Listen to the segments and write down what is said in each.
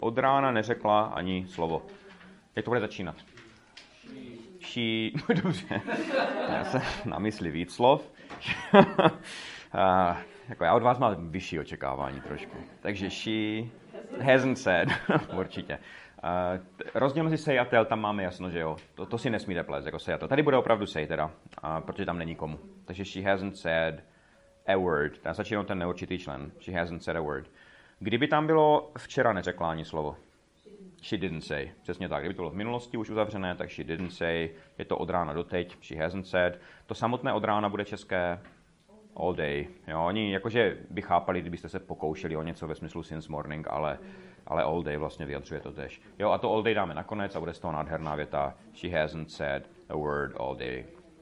od rána neřekla ani slovo. Jak to bude začínat? She, dobře, já jsem na mysli víc slov. Jako já od vás mám vyšší očekávání trošku. Takže she hasn't said, určitě. Rozdíl mezi say a tell, tam máme jasno, že jo. To si nesmíte plést, jako say a tell. Tady bude opravdu say teda, protože tam není komu. Takže she hasn't said a word. Tam začíná ten neurčitý člen. She hasn't said a word. Kdyby tam bylo včera neřekla ani slovo. She didn't say. Přesně tak. Kdyby to bylo v minulosti už uzavřené, tak she didn't say. Je to od rána do teď. She hasn't said. To samotné od rána bude české all day. Jo, oni jakože by chápali, kdybyste se pokoušeli o něco ve smyslu since morning, ale all day vlastně vyjadřuje to tež. Jo, a to all day dáme nakonec a bude z toho nádherná věta. She hasn't said a word all day.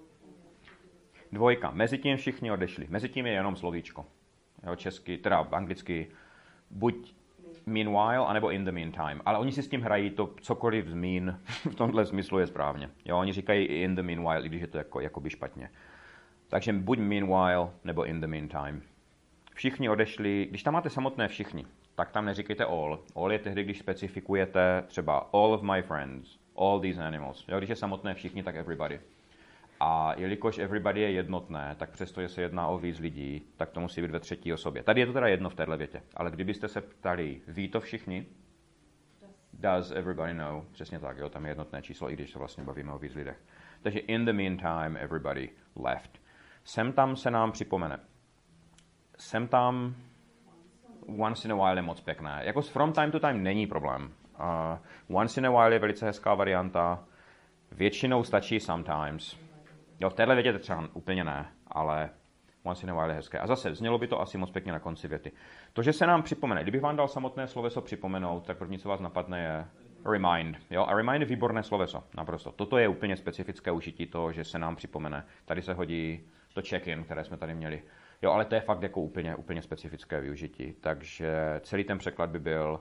Dvojka. Mezitím všichni odešli. Mezitím je jenom slovíčko. Jo, česky, teda anglicky buď meanwhile, anebo in the meantime. Ale oni si s tím hrají, to cokoliv zmín v tomhle smyslu je správně. Jo, oni říkají in the meanwhile, i když je to jakoby špatně. Takže buď meanwhile, nebo in the meantime. Všichni odešli, když tam máte samotné všichni, tak tam neříkejte all. All je tehdy, když specifikujete třeba all of my friends, all these animals. Jo, když je samotné všichni, tak everybody. A jelikož everybody je jednotné, tak přestože se jedná o víc lidí, tak to musí být ve třetí osobě. Tady je to teda jedno v téhle větě. Ale kdybyste se ptali, ví to všichni? Does everybody know? Přesně tak, jo, tam je jednotné číslo, i když se vlastně bavíme o víc lidech. Takže in the meantime, everybody left. Sem tam se nám připomene. Sem tam once in a while je moc pěkné. Jako from time to time není problém. Once in a while je velice hezká varianta. Většinou stačí sometimes. Jo, v téhle větě to třeba úplně ne, ale once in a while je hezké. A zase, znělo by to asi moc pěkně na konci věty. To, že se nám připomene. Kdybych vám dal samotné sloveso připomenout, tak první, co vás napadne, je remind. Jo? A remind je výborné sloveso, naprosto. Toto je úplně specifické užití toho, že se nám připomene. Tady se hodí to check-in, které jsme tady měli. Jo, ale to je fakt jako úplně specifické využití. Takže celý ten překlad by byl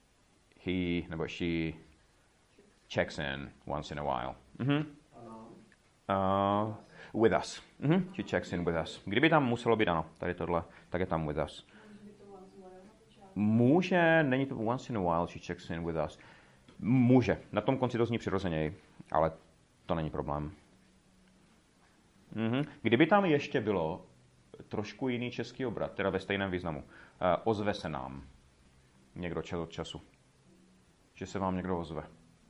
he nebo she checks in once in a while. With us. She checks in with us. Kdyby tam muselo být ano, tady tohle, tak je tam with us. Může, není to once in a while, she checks in with us. Může. Na tom konci to zní přirozeněji, ale to není problém. Kdyby tam ještě bylo trošku jiný český obrat, teda ve stejném významu. Ozve se nám někdo čas od času. Že se vám někdo ozve.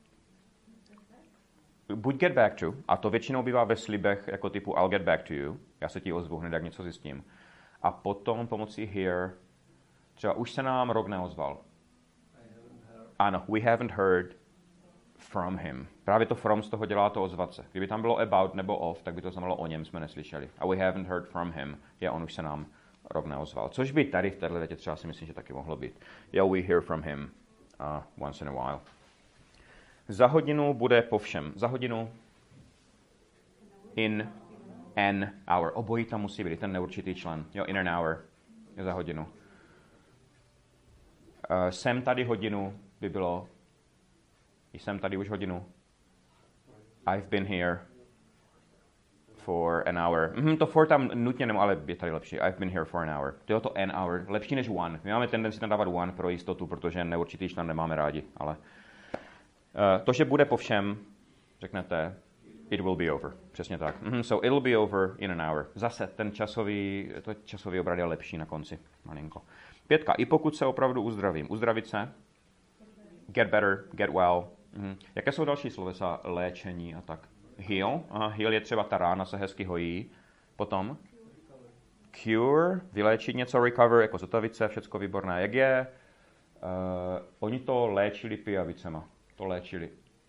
Buď get back to, a to většinou bývá ve slibech jako typu I'll get back to you, já se ti ozvu hned, jak něco zjistím. A potom pomocí here, třeba už se nám rok neozval. Ano, we haven't heard from him. Právě to from z toho dělá to ozvat se. Kdyby tam bylo about nebo of, tak by to znamenalo o něm jsme neslyšeli. A we haven't heard from him, je on už se nám rok neozval. Což by tady v této větě třeba si myslím, že taky mohlo být. Yeah, we hear from him once in a while. Za hodinu bude po všem. Za hodinu in an hour. Obojí tam musí být, ten neurčitý člen. Jo, in an hour je za hodinu. Jsem tady hodinu by bylo jsem tady už hodinu. I've been here for an hour. To for tam nutně nemám, ale je tady lepší. I've been here for an hour. To je to an hour. Lepší než one. My máme tendenci tam dávat one pro jistotu, protože neurčitý člen nemáme rádi, ale to, že bude po všem, řeknete, it will be over. Přesně tak. So it'll be over in an hour. Zase ten časový obrat je lepší na konci. Malinko. 5. I pokud se opravdu uzdravím. Uzdravit se. Get better, get well. Jaké jsou další slovesa? Léčení a tak. Heal. Heal je třeba ta rána se hezky hojí. Potom cure, vyléčit něco, recover, jako zotavit se, všecko výborné. Jak je? Oni to léčili pijavicema. To léčili.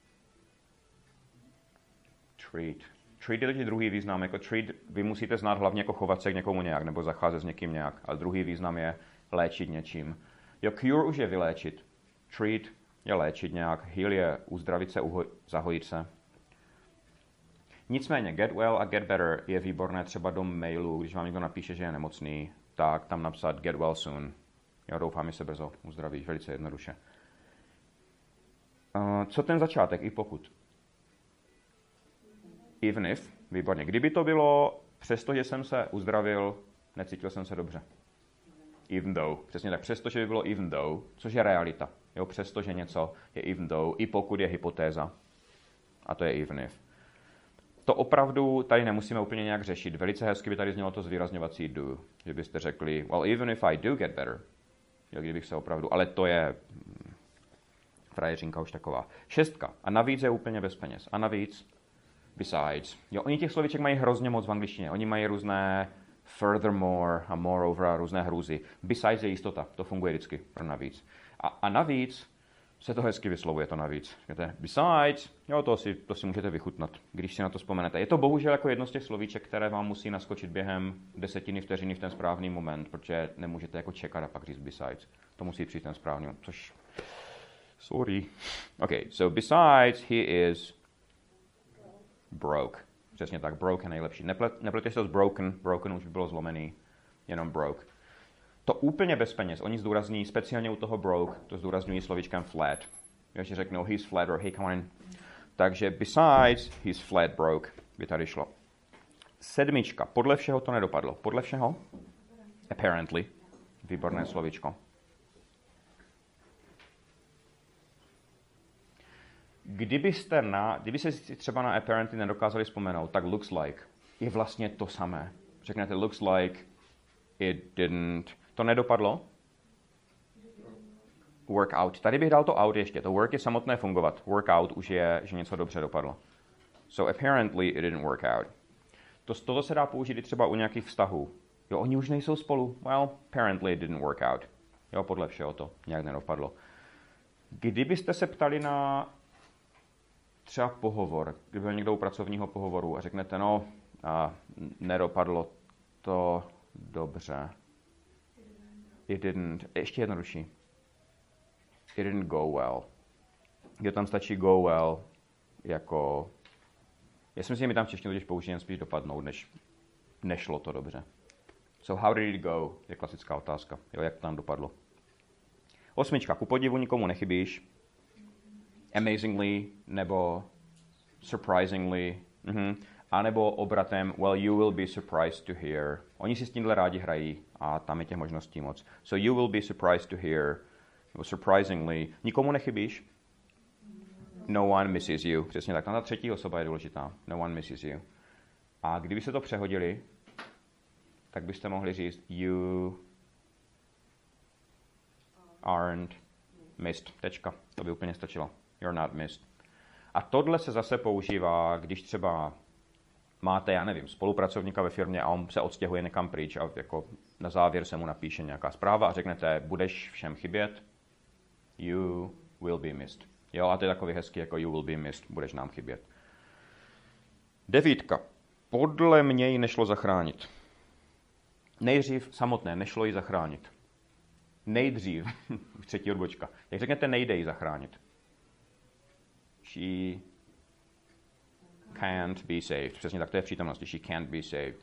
Treat. Treat je totiž druhý význam. Jako treat vy musíte znát hlavně jako chovat se k někomu nějak, nebo zacházet s někým nějak. Ale druhý význam je léčit něčím. Jo, cure už je vyléčit. Treat je léčit nějak. Heal je uzdravit se, zahojit se. Nicméně get well a get better je výborné třeba do mailu, když vám někdo napíše, že je nemocný, tak tam napsat get well soon. Jo, doufám, že se brzo uzdravíš, velice jednoduše. Co ten začátek, i pokud? Even if, výborně. Kdyby to bylo, přestože jsem se uzdravil, necítil jsem se dobře. Even though. Přesně tak, přestože by bylo even though, což je realita. Jo, přestože něco je even though, i pokud je hypotéza. A to je even if. To opravdu tady nemusíme úplně nějak řešit. Velice hezky by tady znělo to zvýrazňovací do. Že byste řekli, well, even if I do get better. Jo, kdybych se opravdu, ale to je frajeřinka už taková. 6. A navíc je úplně bez peněz. A navíc, besides. Jo, oni těch slovíček mají hrozně moc v angličtině. Oni mají různé furthermore a moreover a různé hrůzy. Besides je jistota. To funguje vždycky pro navíc. A navíc se to hezky vyslovuje, to navíc. Říkáte, besides, jo, to si můžete vychutnat, když si na to vzpomenete. Je to bohužel jako jedno z těch slovíček, které vám musí naskočit během desetiny vteřiny v ten správný moment, protože nemůžete jako čekat a pak říct besides. To musí přijít ten správný, což... Sorry. Okay, so besides, he is broke. Přesně tak, broke je nejlepší. Nepleteš to s broken, broken už by bylo zlomený, jenom broke. To úplně bez peněz. Oni zdůrazní, speciálně u toho broke, to zdůrazňují slovíčkem flat. Když řeknou he's flat or hey, come on. Takže besides, he's flat broke, by tady šlo. 7. Podle všeho to nedopadlo. Podle všeho? Apparently. Výborné slovíčko. Kdyby se třeba na apparently nedokázali vzpomenout, tak looks like je vlastně to samé. Řeknete looks like it didn't. To nedopadlo? Work out. Tady bych dal to out ještě. To work je samotné fungovat. Work out už je, že něco dobře dopadlo. So apparently it didn't work out. Toto se dá použít i třeba u nějakých vztahů. Jo, oni už nejsou spolu. Well, apparently it didn't work out. Jo, podle všeho to nějak nedopadlo. Kdybyste se ptali na třeba pohovor, kdyby byl někdo u pracovního pohovoru a řeknete, no, nedopadlo to dobře. It didn't. Ještě jednodušší. It didn't go well. Kde tam stačí go well jako... Já si myslím, že my tam v češtině totiž použijeme spíš dopadnout, než nešlo to dobře. So how did it go? Je klasická otázka. Jo, jak to tam dopadlo. 8. Ku podivu nikomu nechybíš. Amazingly nebo surprisingly. A nebo obratem, well, you will be surprised to hear. Oni si s tímhle rádi hrají a tam je těch možností moc. So you will be surprised to hear, nebo surprisingly. Nikomu nechybíš? No one misses you. Přesně tak, tam ta třetí osoba je důležitá. No one misses you. A kdyby se to přehodili, tak byste mohli říct you aren't missed. Tečka. To by úplně stačilo. You're not missed. A tohle se zase používá, když třeba máte, já nevím, spolupracovníka ve firmě a on se odstěhuje někam pryč a jako na závěr se mu napíše nějaká zpráva a řeknete, budeš všem chybět, you will be missed. Jo, a to je takový hezký, jako you will be missed, budeš nám chybět. 9. Podle mě ji nešlo zachránit. Nejdřív samotné, nešlo ji zachránit. Nejdřív, třetí odbočka. Jak řeknete, nejde ji zachránit. She can't be saved. Přesně tak, to je v přítomnosti. She can't be saved.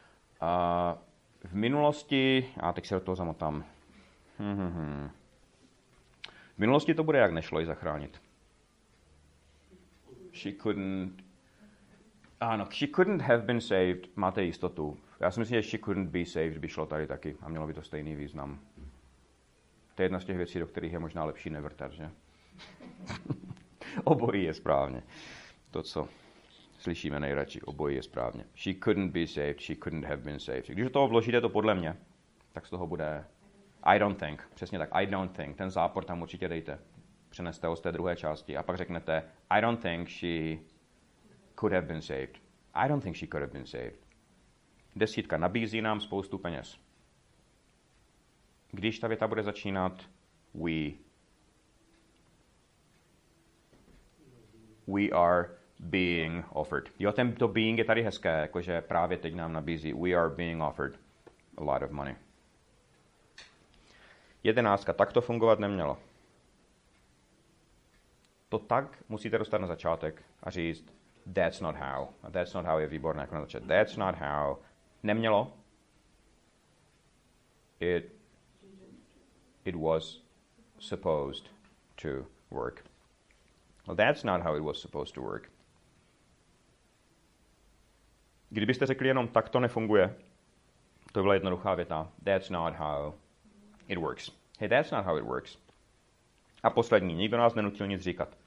V minulosti, a teď se do toho zamotám. V minulosti to bude, jak nešlo ji zachránit. She couldn't have been saved. Máte jistotu. Já si myslím, že she couldn't be saved by šlo tady taky a mělo by to stejný význam. To je jedna z těch věcí, do kterých je možná lepší nevrtat, že? Obojí je správně. To, co slyšíme nejradši, obojí je správně. She couldn't be saved, she couldn't have been saved. Když do toho vložíte to podle mě, tak z toho bude I don't think. Přesně tak, I don't think. Ten zápor tam určitě dejte. Přeneste ho z té druhé části a pak řeknete I don't think she could have been saved. I don't think she could have been saved. 10. Nabízí nám spoustu peněz. Když ta věta bude začínat we are being offered. Jo, to being je tady hezké, jakože právě teď nám nabízí we are being offered a lot of money. 11. Tak to fungovat nemělo. To tak musíte dostat na začátek a říct that's not how. A that's not how je výborné jako na začátek. That's not how. Nemělo. It was supposed to work. Well, that's not how it was supposed to work. Kdybyste řekli jenom tak to nefunguje, to byla jednoduchá věta. That's not how it works. Hey, that's not how it works. A poslední, nikdo nás nenutil nic říkat.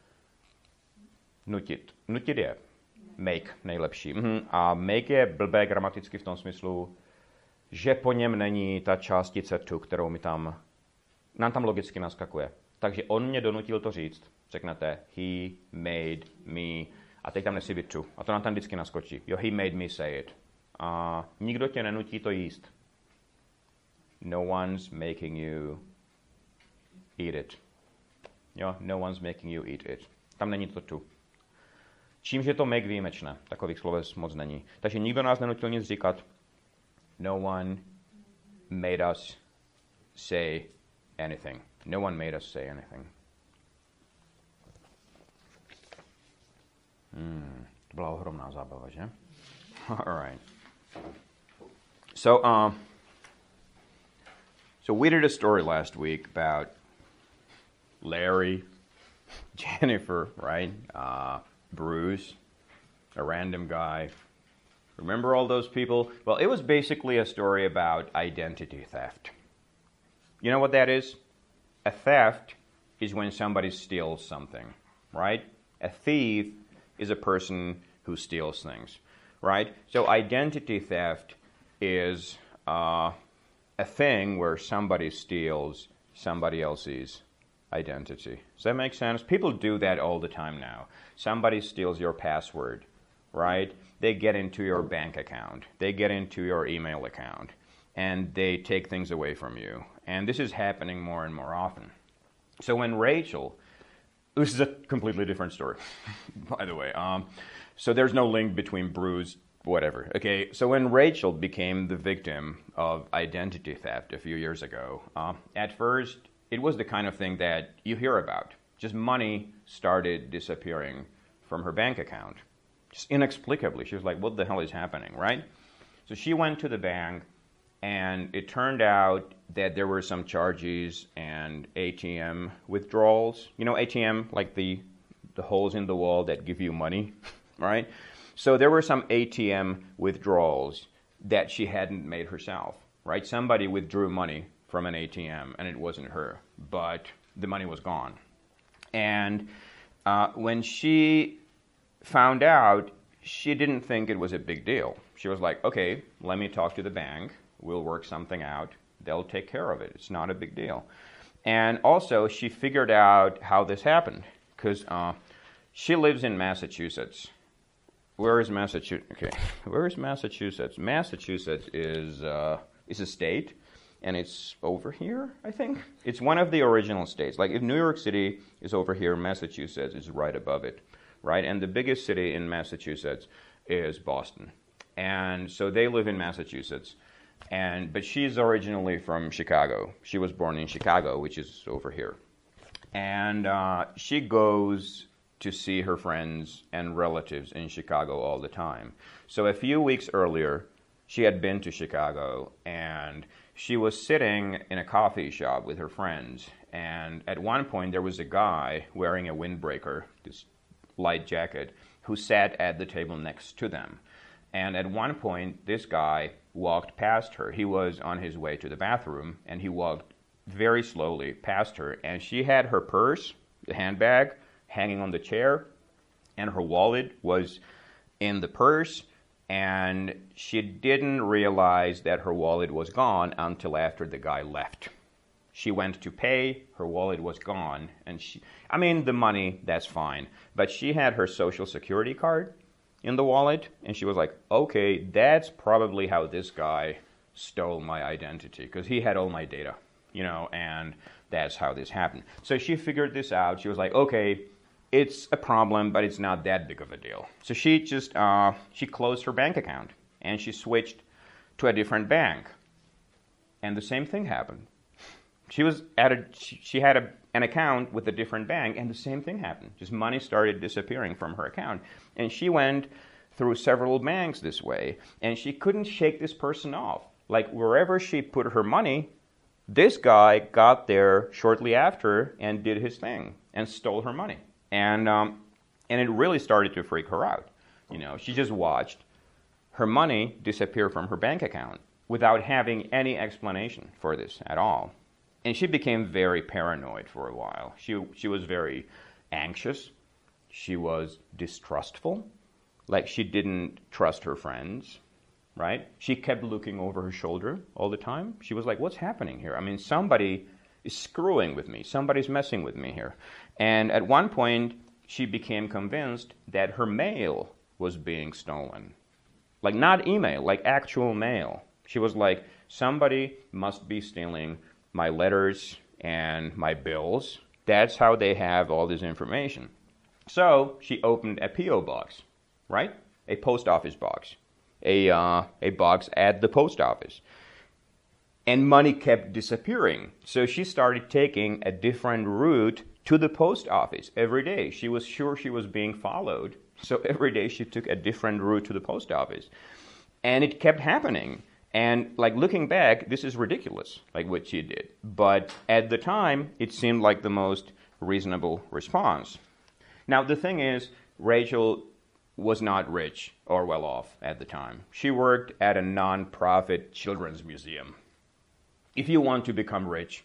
Nutit. Nutit je make nejlepší. A make je blbé gramaticky v tom smyslu, že po něm není ta částice to, kterou nám tam logicky naskakuje. Takže on mě donutil to říct. Řeknete he made me a teď tam nesmí být to. A to nám tam vždycky naskočí. Jo, he made me say it. A nikdo tě nenutí to jíst. No one's making you eat it. Jo, no one's making you eat it. Tam není to to. Čímž je to make výjimečné. Takových sloves moc není. Takže nikdo nás nenutil nic říkat. No one made us say anything. No one made us say anything. To byla ohromná zábava, že? All right. So we did a story last week about Larry, Jennifer, right? Bruce, a random guy. Remember all those people? Well, it was basically a story about identity theft. You know what that is? A theft is when somebody steals something, right? A thief is a person who steals things, right? So identity theft is a thing where somebody steals somebody else's identity. Does that make sense? People do that all the time now. Somebody steals your password, right? They get into your bank account. They get into your email account. And they take things away from you. And this is happening more and more often. So when Rachel, this is a completely different story, by the way. So there's no link between Bruce, whatever. Okay, so when Rachel became the victim of identity theft a few years ago, at first it was the kind of thing that you hear about. Just money started disappearing from her bank account. Just inexplicably. She was like, what the hell is happening, right? So she went to the bank, and it turned out that there were some charges and ATM withdrawals. You know ATM, like the holes in the wall that give you money, right? So there were some ATM withdrawals that she hadn't made herself, right? Somebody withdrew money from an ATM, and it wasn't her, but the money was gone. And when she found out, she didn't think it was a big deal. She was like, okay, let me talk to the bank. We'll work something out. They'll take care of it. It's not a big deal. And also, she figured out how this happened, because she lives in Massachusetts. Where is Massachusetts? Okay, where is Massachusetts? Massachusetts is a state, and it's over here, I think. It's one of the original states. Like if New York City is over here, Massachusetts is right above it, right? And the biggest city in Massachusetts is Boston. And so they live in Massachusetts. But she's originally from Chicago. She was born in Chicago, which is over here. And she goes to see her friends and relatives in Chicago all the time. So a few weeks earlier, she had been to Chicago, and she was sitting in a coffee shop with her friends. And at one point, there was a guy wearing a windbreaker, this light jacket, who sat at the table next to them. And at one point, this guy walked past her. He was on his way to the bathroom, and he walked very slowly past her. And she had her purse, the handbag, hanging on the chair, and her wallet was in the purse. And she didn't realize that her wallet was gone until after the guy left. She went to pay, her wallet was gone. And the money, that's fine. But she had her Social Security card in the wallet, and she was like, okay, that's probably how this guy stole my identity, because he had all my data, and that's how this happened. So she figured this out. She was like, okay, it's a problem, but it's not that big of a deal. So she just, she closed her bank account, and she switched to a different bank. And the same thing happened. She had an account with a different bank, and the same thing happened. Just money started disappearing from her account. And she went through several banks this way, and she couldn't shake this person off. Like, wherever she put her money, this guy got there shortly after and did his thing and stole her money. And it really started to freak her out. She just watched her money disappear from her bank account without having any explanation for this at all. And she became very paranoid for a while. She was very anxious. She was distrustful. Like she didn't trust her friends, right? She kept looking over her shoulder all the time. She was like, what's happening here? I mean, somebody is screwing with me. Somebody's messing with me here. And at one point, she became convinced that her mail was being stolen. Like not email, like actual mail. She was like, somebody must be stealing my letters and my bills. That's how they have all this information. So she opened a P.O. box, right? A post office box. A box at the post office. And money kept disappearing. So she started taking a different route to the post office every day. She was sure she was being followed. So every day she took a different route to the post office. And it kept happening. And like looking back, this is ridiculous, like what she did. But at the time, it seemed like the most reasonable response. Now the thing is, Rachel was not rich or well off at the time. She worked at a non-profit children's museum. If you want to become rich,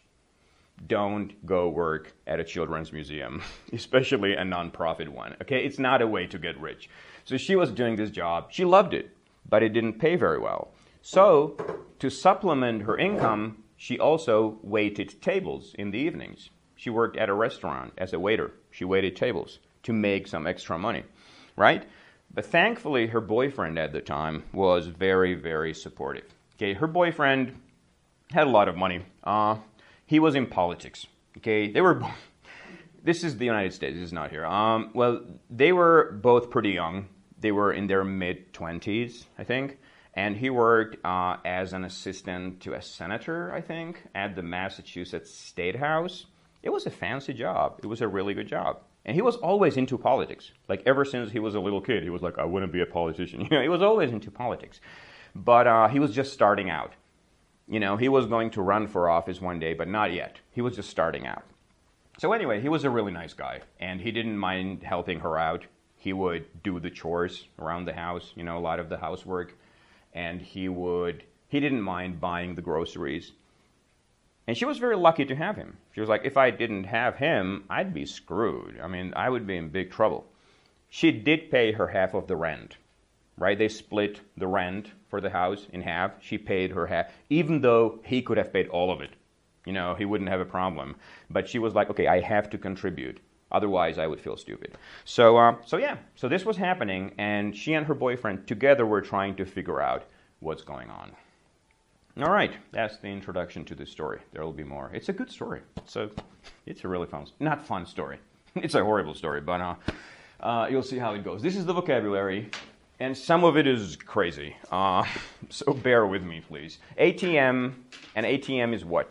don't go work at a children's museum, especially a non-profit one. Okay, it's not a way to get rich. So she was doing this job. She loved it, but it didn't pay very well. So to supplement her income, she also waited tables in the evenings. She worked at a restaurant as a waiter. She waited tables to make some extra money, right? But thankfully, her boyfriend at the time was very, very supportive. Okay, her boyfriend had a lot of money. He was in politics. Okay, they were. This is the United States. This is not here. Well, they were both pretty young. They were in their mid-20s, I think. And he worked as an assistant to a senator, I think, at the Massachusetts State House. It was a fancy job. It was a really good job. And he was always into politics. Like ever since he was a little kid, he was like, I want to be a politician. You know, he was always into politics. But he was just starting out. You know, he was going to run for office one day, but not yet. He was just starting out. So anyway, he was a really nice guy, and he didn't mind helping her out. He would do the chores around the house, you know, a lot of the housework, and he didn't mind buying the groceries. And she was very lucky to have him. She was like, if I didn't have him, I'd be screwed. I mean, I would be in big trouble. She did pay her half of the rent, right? They split the rent for the house in half. She paid her half, even though he could have paid all of it. You know, he wouldn't have a problem. But she was like, okay, I have to contribute. Otherwise, I would feel stupid. So this was happening, and she and her boyfriend together were trying to figure out what's going on. All right, that's the introduction to this story. There will be more. It's a good story. It's a really not fun story. It's a horrible story, but you'll see how it goes. This is the vocabulary, and some of it is crazy. So bear with me, please. ATM, and ATM is what?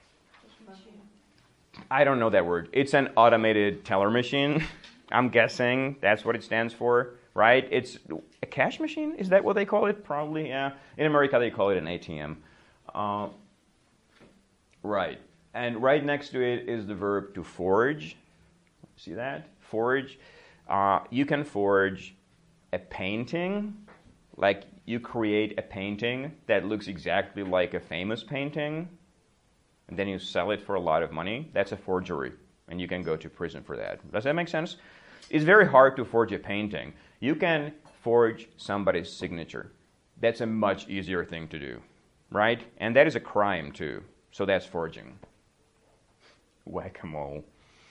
I don't know that word. It's an automated teller machine. I'm guessing that's what it stands for, right? It's a cash machine? Is that what they call it? Probably, yeah. In America, they call it an ATM. Right. And right next to it is the verb to forge. See that? Forge. You can forge a painting. Like you create a painting that looks exactly like a famous painting, and then you sell it for a lot of money. That's a forgery, and you can go to prison for that. Does that make sense? It's very hard to forge a painting. You can forge somebody's signature. That's a much easier thing to do, right? And that is a crime, too. So that's forging. Whack-a-mole.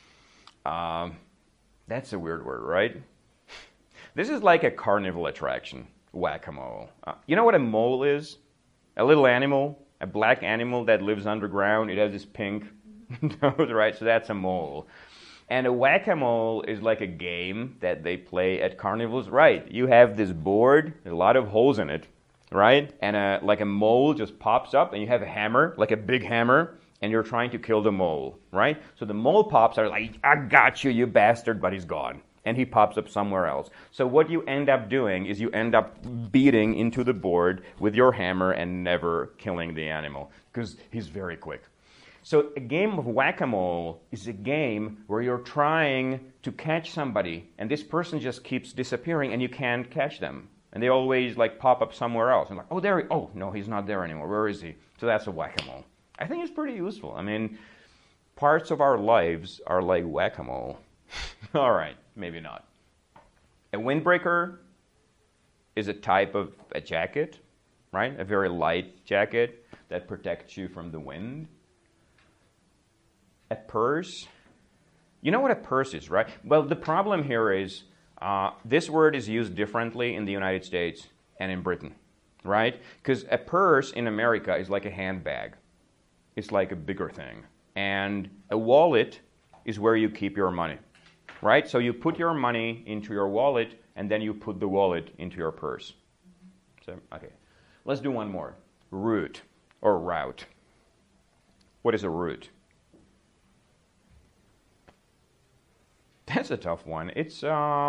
That's a weird word, right? This is like a carnival attraction, whack-a-mole. You know what a mole is? A little animal. A black animal that lives underground. It has this pink nose, right? So that's a mole. And a whack-a-mole is like a game that they play at carnivals. Right, you have this board, a lot of holes in it, right? And like a mole just pops up, and you have a hammer, like a big hammer, and you're trying to kill the mole, right? So the mole pops out like, I got you, you bastard, but he's gone. And he pops up somewhere else. So what you end up doing is you end up beating into the board with your hammer and never killing the animal, because he's very quick. So a game of whack-a-mole is a game where you're trying to catch somebody, and this person just keeps disappearing, and you can't catch them. And they always like pop up somewhere else. And like, oh, no, he's not there anymore. Where is he? So that's a whack-a-mole. I think it's pretty useful. I mean, parts of our lives are like whack-a-mole. All right, maybe not. A windbreaker is a type of a jacket, right? A very light jacket that protects you from the wind. A purse. You know what a purse is, right? Well, the problem here is this word is used differently in the United States and in Britain, right? Because a purse in America is like a handbag. It's like a bigger thing. And a wallet is where you keep your money, right? So you put your money into your wallet, and then you put the wallet into your purse. So, okay. Let's do one more. Route or route. What is a route? That's a tough one. It's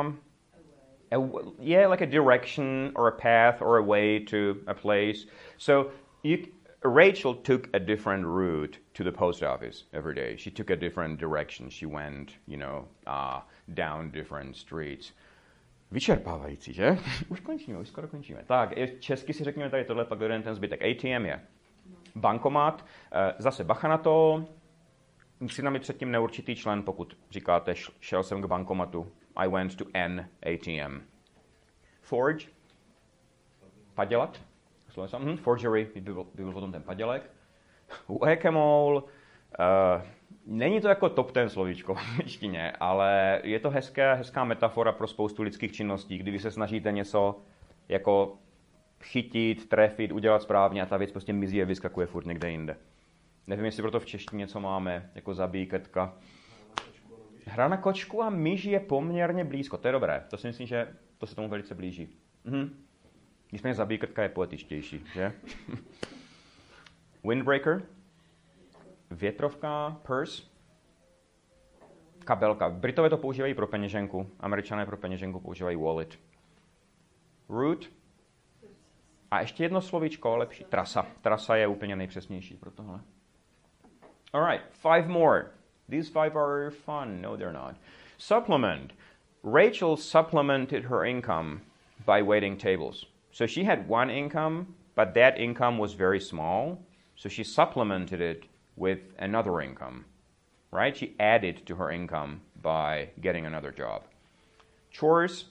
like a direction or a path or a way to a place. So Rachel took a different route to the post office every day. She took a different direction. She went, down different streets. Vyčerpávající, že? Už skoro končíme. Tak, česky si řekněme tady tohle, pak jeden ten zbytek. ATM je bankomat. Zase bacha na to. Musí tam být předtím neurčitý člen, pokud říkáte, šel jsem k bankomatu. I went to an ATM. Forge. Padělat. Forgery, byl potom ten padělek. Whack-a-mole. Není to jako top 10 slovíčko v angličtině, ale je to hezká metafora pro spoustu lidských činností, kdy vy se snažíte něco jako chytit, trefit, udělat správně a ta věc prostě mizí a vyskakuje furt někde jinde. Nevím, jestli proto v češtině něco máme, jako zabíjetka. Hra na kočku a myš je poměrně blízko, to je dobré. To si myslím, že to se tomu velice blíží. Nicméně zabíjetka je poetičtější, že? Windbreaker. Větrovka, purse, kabelka. Britové to používají pro peněženku, Američané pro peněženku používají wallet. Route. A ještě jedno slovíčko, lepší. Trasa. Trasa je úplně nejpřesnější pro tohle. Alright, 5 more. These 5 are fun. No, they're not. Supplement. Rachel supplemented her income by waiting tables. So she had one income, but that income was very small. So she supplemented it with another income, right? She added to her income by getting another job. Chores,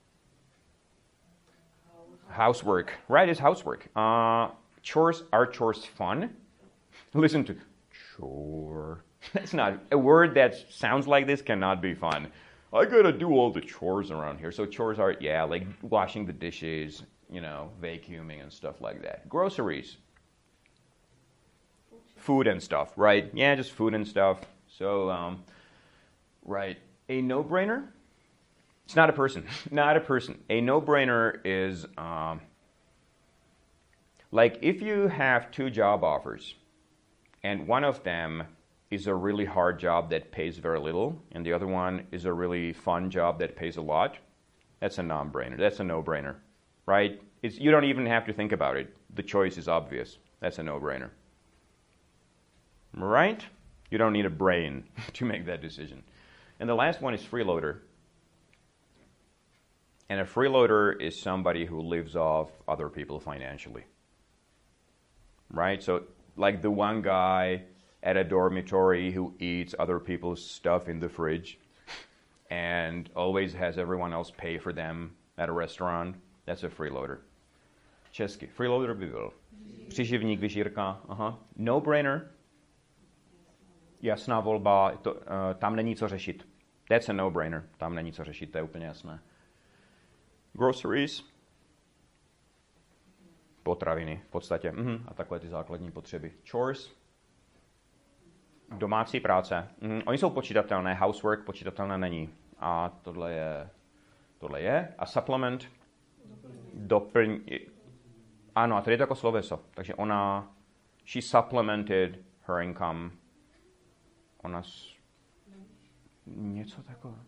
housework, right? It's housework. Chores, are chores fun? Listen to chore. That's not a word that sounds like this cannot be fun. I gotta do all the chores around here. So chores are, like washing the dishes, vacuuming and stuff like that. Groceries. Food and stuff, right? Yeah, just food and stuff. So, right. A no-brainer? It's not a person. Not a person. A no-brainer is like if you have 2 job offers and one of them is a really hard job that pays very little and the other one is a really fun job that pays a lot, that's a non-brainer. That's a no-brainer, right? You don't even have to think about it. The choice is obvious. That's a no-brainer. Right? You don't need a brain to make that decision. And the last one is freeloader. And a freeloader is somebody who lives off other people financially. Right? So, like the one guy at a dormitory who eats other people's stuff in the fridge and always has everyone else pay for them at a restaurant, that's a freeloader. Česky. Freeloader by byl příživník, vyžírka. No-brainer. Jasná volba, tam není co řešit. That's a no-brainer. Tam není co řešit, to je úplně jasné. Groceries. Potraviny v podstatě. A takové ty základní potřeby. Chores. Domácí práce. Oni jsou počítatelné. Housework počítatelné není. A tohle je. A supplement. Ano, a tady je to jako sloveso. Takže she supplemented her income. Něco takového.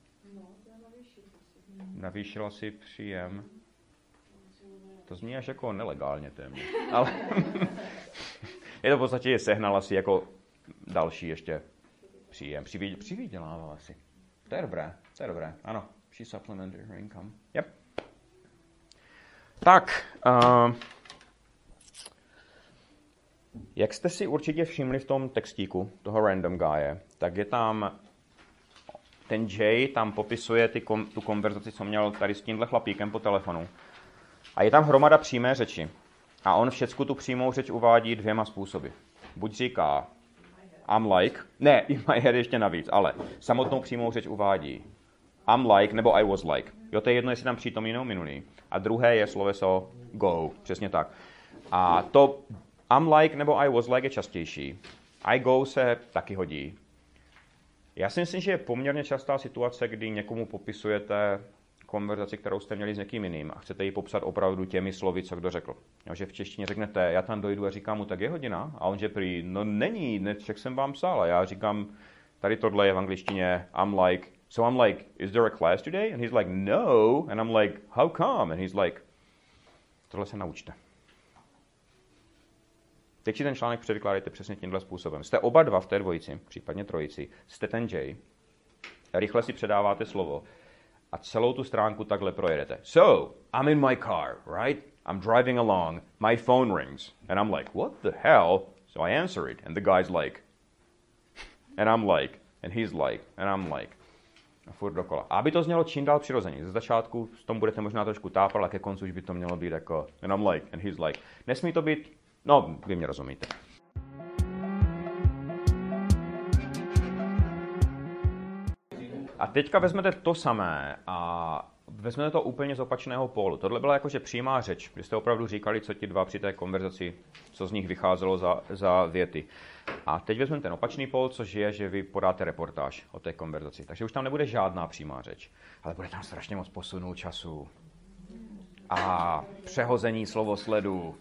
Navýšila si příjem. To zní až jako nelegálně téměř. Ale je to v podstatě, že sehnala si jako další ještě příjem. Přivydělávala si. To je dobré. Ano. She supplemented her income. Yep. Tak. Jak jste si určitě všimli v tom textíku toho random guye, tak je tam ten Jay tam popisuje tu konverzaci, co měl tady s tímhle chlapíkem po telefonu. A je tam hromada přímé řeči. A on všecku tu přímou řeč uvádí dvěma způsoby. Buď říká I'm like, ne, in my head ještě navíc, ale samotnou přímou řeč uvádí I'm like nebo I was like. Jo, to je jedno, jestli tam přítomný nebo minulý. A druhé je sloveso go, přesně tak. A to I'm like nebo I was like je častější. I go se taky hodí. Já si myslím, že je poměrně častá situace, kdy někomu popisujete konverzaci, kterou jste měli s někým jiným a chcete ji popsat opravdu těmi slovy, co kdo řekl. Jo, že v češtině řeknete, já tam dojdu a říkám mu, tak je hodina? A on že prý, no není, však jsem vám psal. A já říkám, tady tohle je v angličtině, I'm like, is there a class today? And he's like, no. And I'm like, how come? And he's like, tohle se naučte. Teď si ten článek převykládejte přesně tímhle způsobem. Jste oba dva v té dvojici, případně trojici, jste ten Jay, rychle si předáváte slovo a celou tu stránku takhle projedete. So, I'm in my car, right? I'm driving along, my phone rings, and I'm like, what the hell? So I answer it, and the guy's like, and I'm like, and he's like, and I'm like. A furt dokola. A aby to znělo čím dál přirozeně. Ze začátku s tom budete možná trošku tápat, ale ke konci už by to mělo být jako, and I'm like, and he's like. Nesmí to být, no, vy mě rozumíte. A teďka vezmete to samé a vezmete to úplně z opačného pólu. Tohle byla jakože přímá řeč, kdy jste opravdu říkali, co ti dva při té konverzaci, co z nich vycházelo za věty. A teď vezmeme ten opačný pól, což je, že vy podáte reportáž o té konverzaci. Takže už tam nebude žádná přímá řeč, ale bude tam strašně moc posunu času. A přehození slovosledu.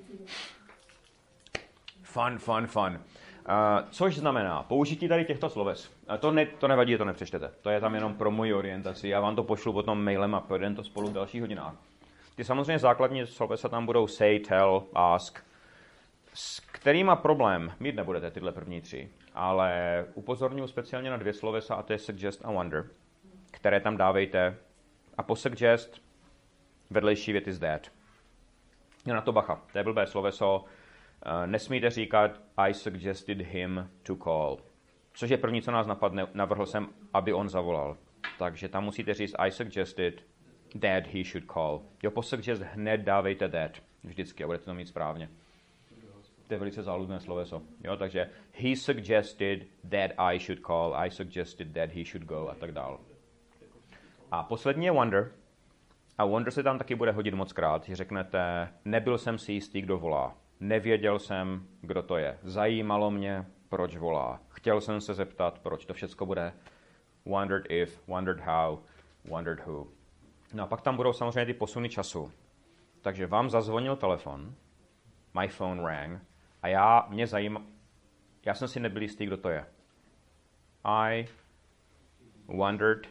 Fun. Což znamená použití tady těchto sloves. To nevadí, to nepřečtete. To je tam jenom pro moji orientaci. Já vám to pošlu potom mailem a projdeme to spolu v dalších hodinách. Ty samozřejmě základní slovesa tam budou say, tell, ask, s kterýma problém mít nebudete tyhle první tři, ale upozorňuji speciálně na dvě slovesa a to je suggest a wonder, které tam dávejte a po suggest vedlejší věty z that. Jo, na to bacha, to je blbé sloveso. Nesmíte říkat I suggested him to call. Což je první, co nás napadne, navrhl jsem, aby on zavolal. Takže tam musíte říct I suggested that he should call. Jo, po suggest hned dávejte that. Vždycky a budete to mít správně. To je velice záludné sloveso. Jo, takže he suggested that I should call. I suggested that he should go a tak dál. A poslední je wonder. A wonder se tam taky bude hodit moc krát. Že řeknete, nebyl jsem si jistý, kdo volá. Nevěděl jsem, kdo to je. Zajímalo mě, proč volá. Chtěl jsem se zeptat, proč. To všecko bude wondered if, wondered how, wondered who. No a pak tam budou samozřejmě ty posuny času. Takže vám zazvonil telefon, my phone rang, a já jsem si nebyl jistý, kdo to je. I wondered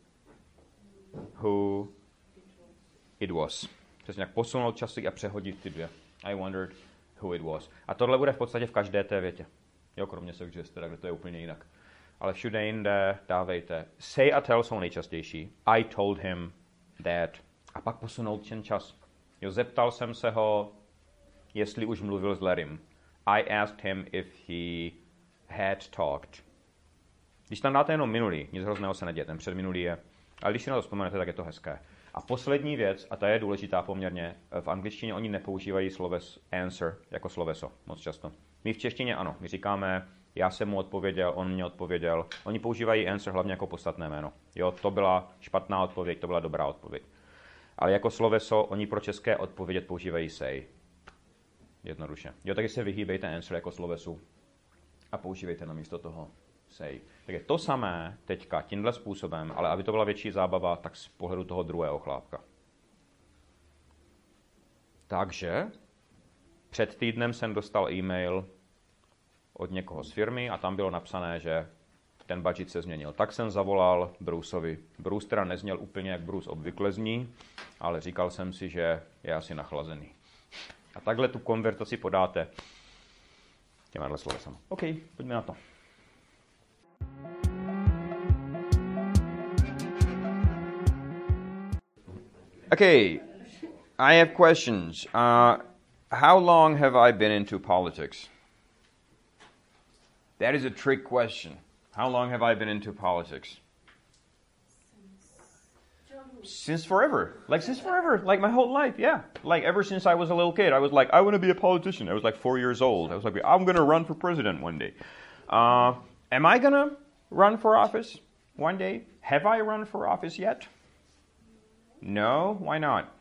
who it was. Přesně jak posunout časy a přehodit ty dvě. I wondered who it was. A tohle bude v podstatě v každé té větě. Jo, kromě suggest, kde to je úplně jinak. Ale všude jinde dávejte. Say a tell jsou nejčastější. I told him that. A pak posunout ten čas. Jo, zeptal jsem se ho, jestli už mluvil s Larrym. I asked him if he had talked. Když tam dáte jenom minulý, nic hrozného se neděje, ten předminulý je. Ale když si na to vzpomenete, tak je to hezké. A poslední věc, a ta je důležitá poměrně, v angličtině oni nepoužívají sloves answer jako sloveso moc často. My v češtině ano, my říkáme, já jsem mu odpověděl, on mě odpověděl. Oni používají answer hlavně jako podstatné jméno. Jo, to byla špatná odpověď, to byla dobrá odpověď. Ale jako sloveso oni pro české odpovědět používají say. Jednoduše. Jo, takže se vyhýbejte answer jako slovesu a používejte namísto toho say. Tak je to samé teďka tímhle způsobem, ale aby to byla větší zábava, tak z pohledu toho druhého chlápka. Takže před týdnem jsem dostal e-mail od někoho z firmy a tam bylo napsané, že ten budget se změnil. Tak jsem zavolal Bruceovi. Bruce teda nezněl úplně, jak Bruce obvykle zní, ale říkal jsem si, že je asi nachlazený. A takhle tu konverzaci podáte těmahle slovesama. OK, pojďme na to. Okay, I have questions. How long have I been into politics? That is a trick question. How long have I been into politics? Since forever. Like my whole life, yeah. Like ever since I was a little kid, I was like, I want to be a politician. I was like 4 years old. I was like, I'm going to run for president one day. Am I going to run for office one day? Have I run for office yet? No? Why not?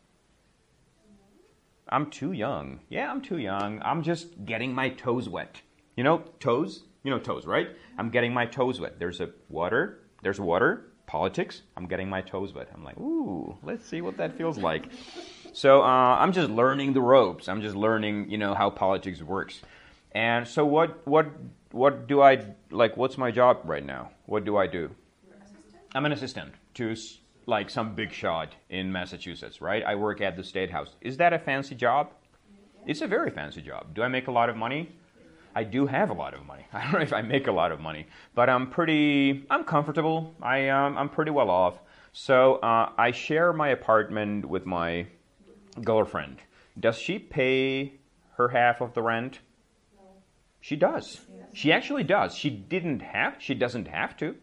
I'm too young. Yeah, I'm too young. I'm just getting my toes wet. You know toes? You know toes, right? I'm getting my toes wet. There's water. Politics. I'm getting my toes wet. I'm like, ooh, let's see what that feels like. So I'm just learning the ropes. I'm just learning, how politics works. And so what do I, like, what's my job right now? What do I do? I'm an assistant to like some big shot in Massachusetts, right? I work at the State House. Is that a fancy job? It's a very fancy job. Do I make a lot of money? I do have a lot of money. I don't know if I make a lot of money, but I'm comfortable. I'm pretty well off. So I share my apartment with my girlfriend. Does she pay her half of the rent? No. She does. Yes. She actually does. She doesn't have to.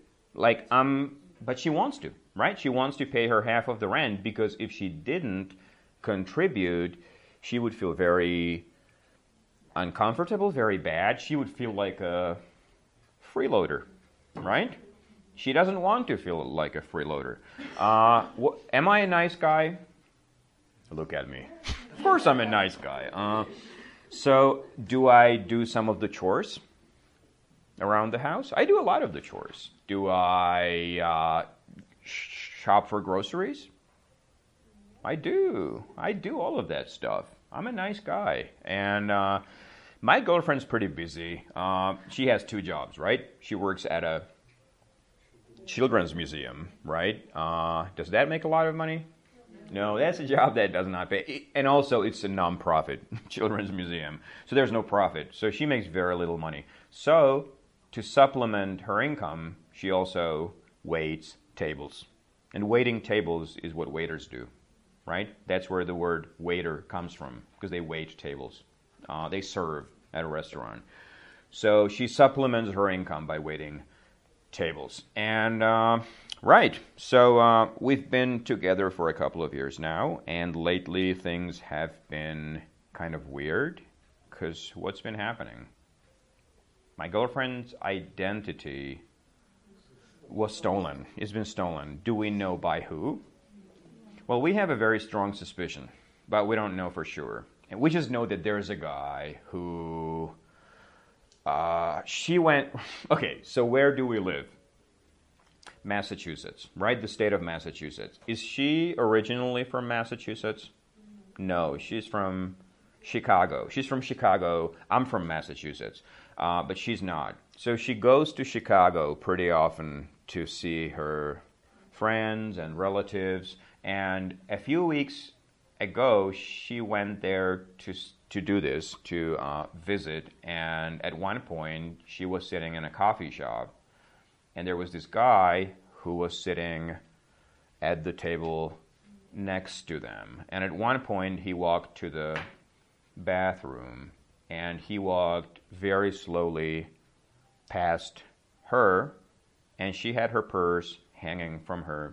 But she wants to, right? She wants to pay her half of the rent because if she didn't contribute, she would feel very uncomfortable, very bad. She would feel like a freeloader, right? She doesn't want to feel like a freeloader. Am I a nice guy? Look at me. Of course I'm a nice guy. So do I do some of the chores around the house? I do a lot of the chores. Do I shop for groceries? I do. I do all of that stuff. I'm a nice guy. And my girlfriend's pretty busy. She has 2 jobs, right? She works at a children's museum, right? Does that make a lot of money? No, that's a job that does not pay. And also, it's a non-profit children's museum. So there's no profit. So she makes very little money. So to supplement her income, she also waits tables. And waiting tables is what waiters do, right? That's where the word waiter comes from, because they wait tables. They serve at a restaurant. So she supplements her income by waiting tables. And, right, so we've been together for a couple of years now, and lately things have been kind of weird, because what's been happening? My girlfriend's identity was stolen. It's been stolen. Do we know by who? Well, we have a very strong suspicion, but we don't know for sure. And we just know that there's a guy who... Okay, so where do we live? Massachusetts, right? The state of Massachusetts. Is she originally from Massachusetts? No, she's from Chicago. She's from Chicago. I'm from Massachusetts, but she's not. So she goes to Chicago pretty often to see her friends and relatives. And a few weeks ago, she went there to do this, to visit. And at one point, she was sitting in a coffee shop. And there was this guy who was sitting at the table next to them. And at one point, he walked to the bathroom. And he walked very slowly past her. And she had her purse hanging from her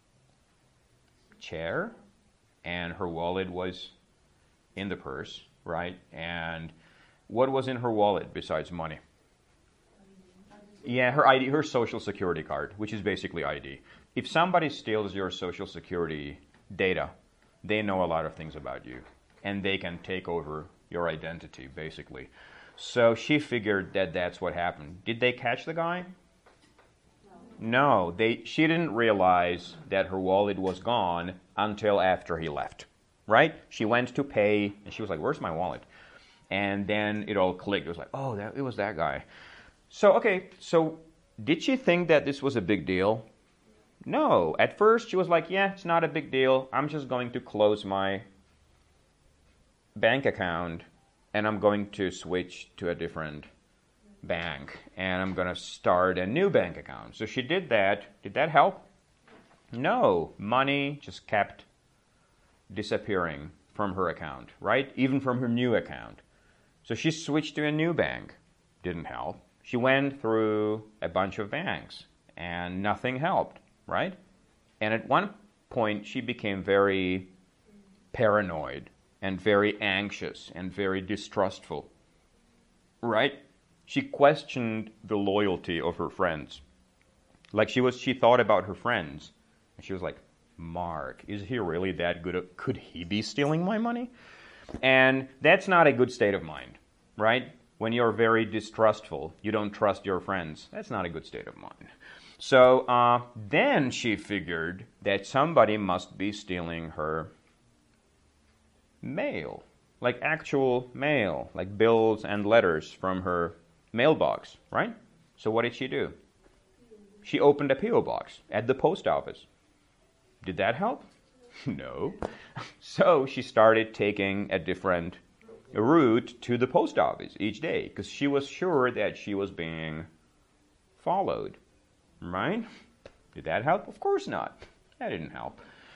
chair. And her wallet was in the purse, right? And what was in her wallet besides money? Yeah, her ID, her social security card, which is basically ID. If somebody steals your social security data, they know a lot of things about you. And they can take over your identity, basically. So she figured that that's what happened. Did they catch the guy? No, she didn't realize that her wallet was gone until after he left, right? She went to pay, and she was like, where's my wallet? And then it all clicked. It was like, oh, it was that guy. So, okay, so did she think that this was a big deal? No. At first, she was like, yeah, it's not a big deal. I'm just going to close my bank account, and I'm going to switch to a different bank, and I'm going to start a new bank account. So she did that. Did that help? No. Money just kept disappearing from her account, right? Even from her new account. So she switched to a new bank. Didn't help. She went through a bunch of banks and nothing helped, right? And at one point, she became very paranoid and very anxious and very distrustful, right? She questioned the loyalty of her friends. Like she thought about her friends, and she was like, Mark, is he really that good? Could he be stealing my money? And that's not a good state of mind, right? When you're very distrustful, you don't trust your friends. That's not a good state of mind. So then she figured that somebody must be stealing her mail, like actual mail, like bills and letters from her mailbox, right? So what did she do? She opened a P.O. box at the post office. Did that help? No. So she started taking a different route to the post office each day because she was sure that she was being followed, right? Did that help? Of course not. That didn't help.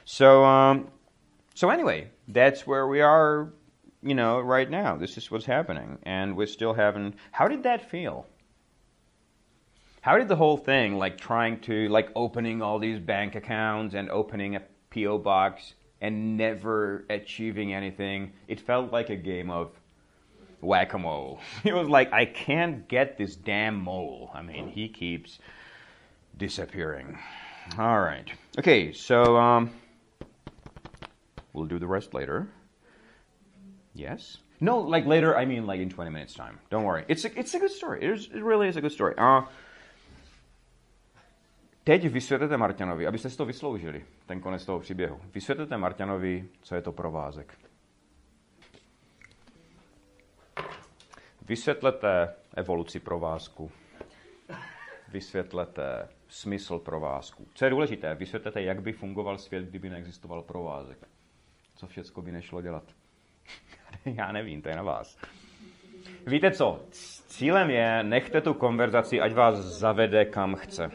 So anyway, that's where we are, right now. This is what's happening, and we still haven't. How did that feel? How did the whole thing, like trying to, like opening all these bank accounts and opening a P.O. box and never achieving anything, it felt like a game of whack-a-mole. It was like, I can't get this damn mole. I mean, he keeps disappearing. All right. Okay, so we'll do the rest later. Yes? No, like later, I mean like in 20 minutes time. Don't worry. It's a good story. It really is a good story. Teď vysvětlete Marťanovi, abyste si to vysloužili, ten konec toho příběhu. Vysvětlete Marťanovi, co je to provázek. Vysvětlete evoluci provázku. Vysvětlete smysl provázku. Co je důležité, vysvětlete, jak by fungoval svět, kdyby neexistoval provázek. Co všecko by nešlo dělat. Já nevím, to je na vás. Víte co? Cílem je, nechte tu konverzaci, ať vás zavede kam chce.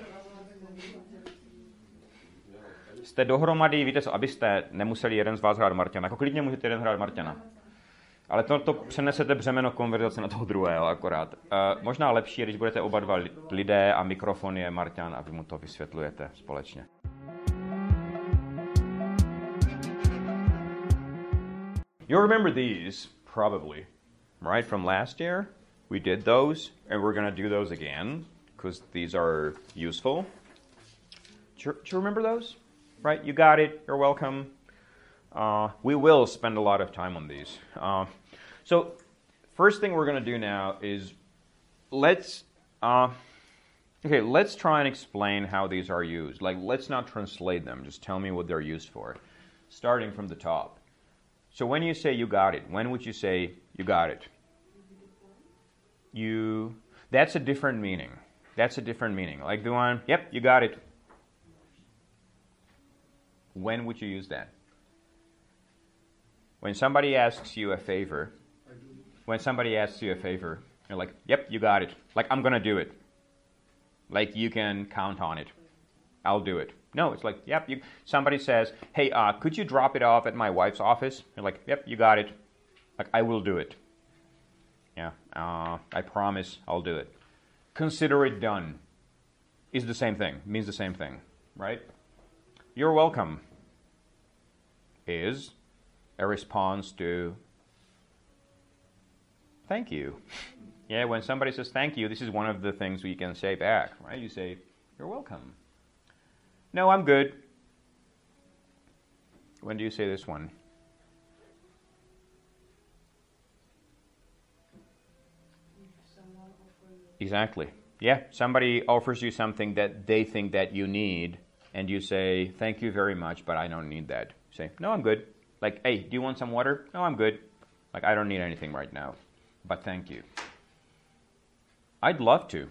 Jste dohromady, víte co, abyste nemuseli jeden z vás hrát Marťana. Jako klidně můžete jeden hrát Marťana. Ale to přenesete břemeno konverzace na toho druhého akorát. Možná lepší je, když budete oba dva lidé a mikrofon je Marťan a vy mu to vysvětlujete společně. You remember these, probably, right, from last year? We did those, and we're going to do those again, because these are useful. Do you remember those? Right, you got it, you're welcome. We will spend a lot of time on these. So, first thing we're going to do now is let's try and explain how these are used. Like, let's not translate them, just tell me what they're used for. Starting from the top. So when you say you got it, when would you say you got it? That's a different meaning. That's a different meaning. Like the one, yep, you got it. When would you use that? When somebody asks you a favor, you're like, yep, you got it. Like, I'm going to do it. Like, you can count on it. I'll do it. No, it's like, yep, somebody says, hey, could you drop it off at my wife's office? You're like, yep, you got it. Like, I will do it. Yeah, I promise I'll do it. Consider it done is the same thing, means the same thing, right? You're welcome is a response to thank you. Yeah, when somebody says thank you, this is one of the things we can say back, right? You say, you're welcome. No, I'm good. When do you say this one? Exactly. Yeah, somebody offers you something that they think that you need, and you say, thank you very much, but I don't need that. You say, no, I'm good. Like, hey, do you want some water? No, I'm good. Like, I don't need anything right now, but thank you. I'd love to.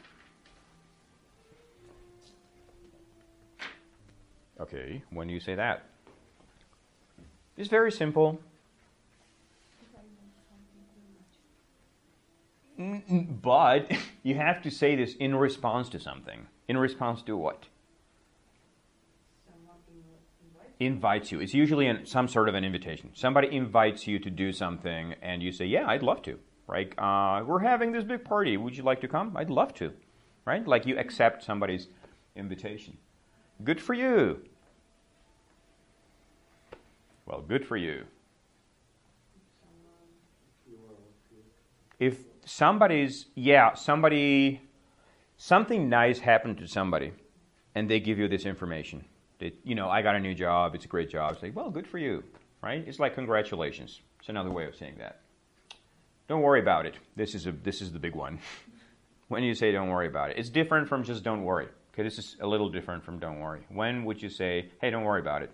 Okay, when do you say that? It's very simple. But you have to say this in response to something. In response to what? Invites you. It's usually some sort of an invitation. Somebody invites you to do something and you say, yeah, I'd love to. right? We're having this big party. Would you like to come? I'd love to, right? Like you accept somebody's invitation. Good for you. Well, good for you. If something nice happened to somebody, and they give you this information, that, I got a new job, it's a great job. It's like, well, good for you, right? It's like congratulations. It's another way of saying that. Don't worry about it. This is the big one. When you say don't worry about it, it's different from just don't worry. Okay, this is a little different from don't worry. When would you say, hey, don't worry about it?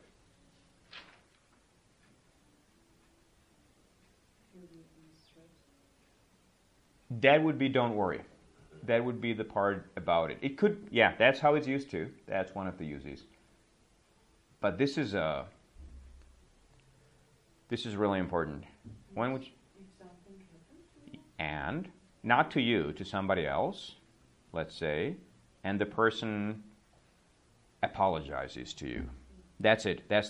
That would be don't worry. That would be the part about it. It could, that's how it's used to. That's one of the uses. But this is really important. When would and not to you, to somebody else, let's say, and the person apologizes to you. That's it. That's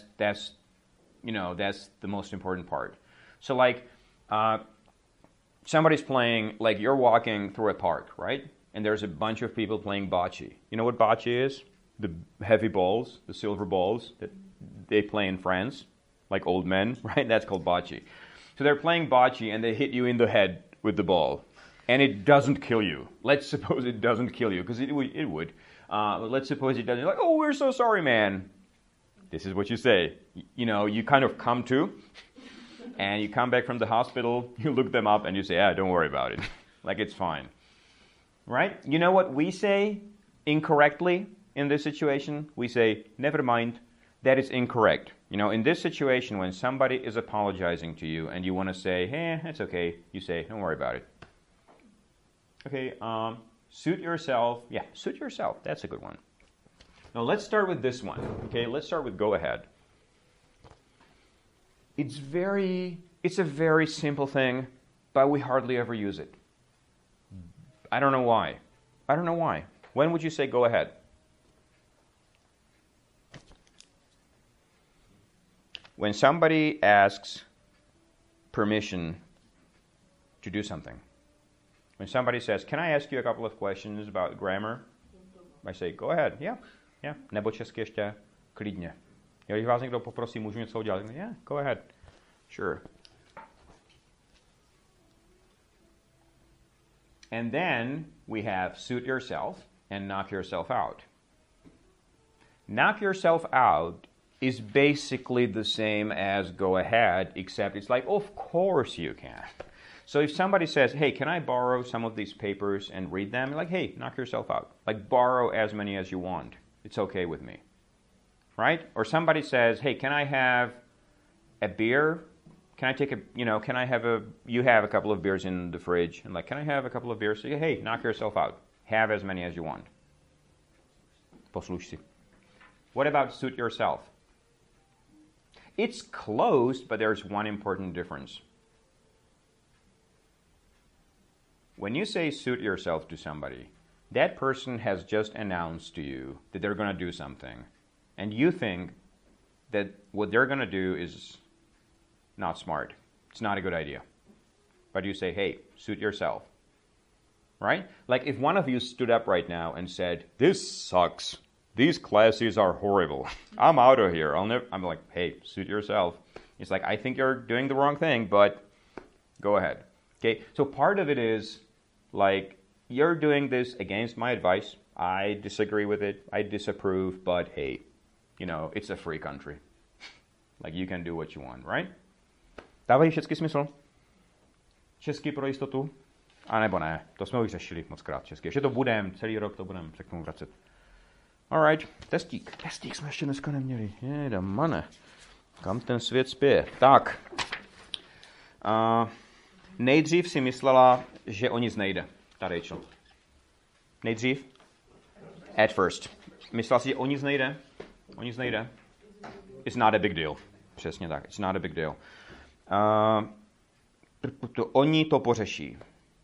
the most important part. So like somebody's playing, like you're walking through a park, right? And there's a bunch of people playing bocce. You know what bocce is? The heavy balls, the silver balls that they play in France, like old men, right? That's called bocce. So they're playing bocce and they hit you in the head with the ball. And it doesn't kill you. Let's suppose it doesn't kill you, because it would. But let's suppose it doesn't. You're like, oh, we're so sorry, man. This is what you say. You kind of come to, and you come back from the hospital, you look them up, and you say, don't worry about it. Like, it's fine. Right? You know what we say incorrectly in this situation? We say, never mind. That is incorrect. In this situation, when somebody is apologizing to you, and you want to say, hey, it's okay, you say, don't worry about it. Okay, suit yourself. Yeah, suit yourself. That's a good one. Now let's start with this one. Okay, let's start with go ahead. It's a very simple thing, but we hardly ever use it. I don't know why. When would you say go ahead? When somebody asks permission to do something. When somebody says, can I ask you a couple of questions about grammar? I say, go ahead. Yeah. Nebo česky ještě klidně. Když vás někdo poprosí, můžu něco udělat? Yeah, go ahead. Sure. And then we have suit yourself and knock yourself out. Knock yourself out is basically the same as go ahead, except it's like, of course you can. So if somebody says, hey, can I borrow some of these papers and read them? You're like, hey, knock yourself out. Like, borrow as many as you want. It's okay with me. Right? Or somebody says, hey, can I have a beer? Can I take you have a couple of beers in the fridge. And like, can I have a couple of beers? So you, hey, knock yourself out. Have as many as you want. Posluš si. What about suit yourself? It's close, but there's one important difference. When you say suit yourself to somebody, that person has just announced to you that they're going to do something. And you think that what they're going to do is not smart. It's not a good idea. But you say, hey, suit yourself. Right? Like if one of you stood up right now and said, this sucks. These classes are horrible. I'm out of here. I'm like, hey, suit yourself. It's like, I think you're doing the wrong thing, but go ahead. Okay? So part of it is like, you're doing this against my advice. I disagree with it. I disapprove, but hey, it's a free country. Like, you can do what you want, right? Dávají všechny smysl? Česky pro jistotu? A nebo ne? To jsme už řešili mockrát česky. Ještě to budem, celý rok to budem se k tomu vracet. Alright, testík. Testík jsme ještě dneska neměli. Jedamane. Kam ten svět spěje? Tak. Nejdřív si myslela, že o nic nejde. Ta Rachel. Nejdřív? At first. Myslela si, že o nic nejde? O nic nejde? It's not a big deal. Přesně tak. It's not a big deal. Oni to pořeší.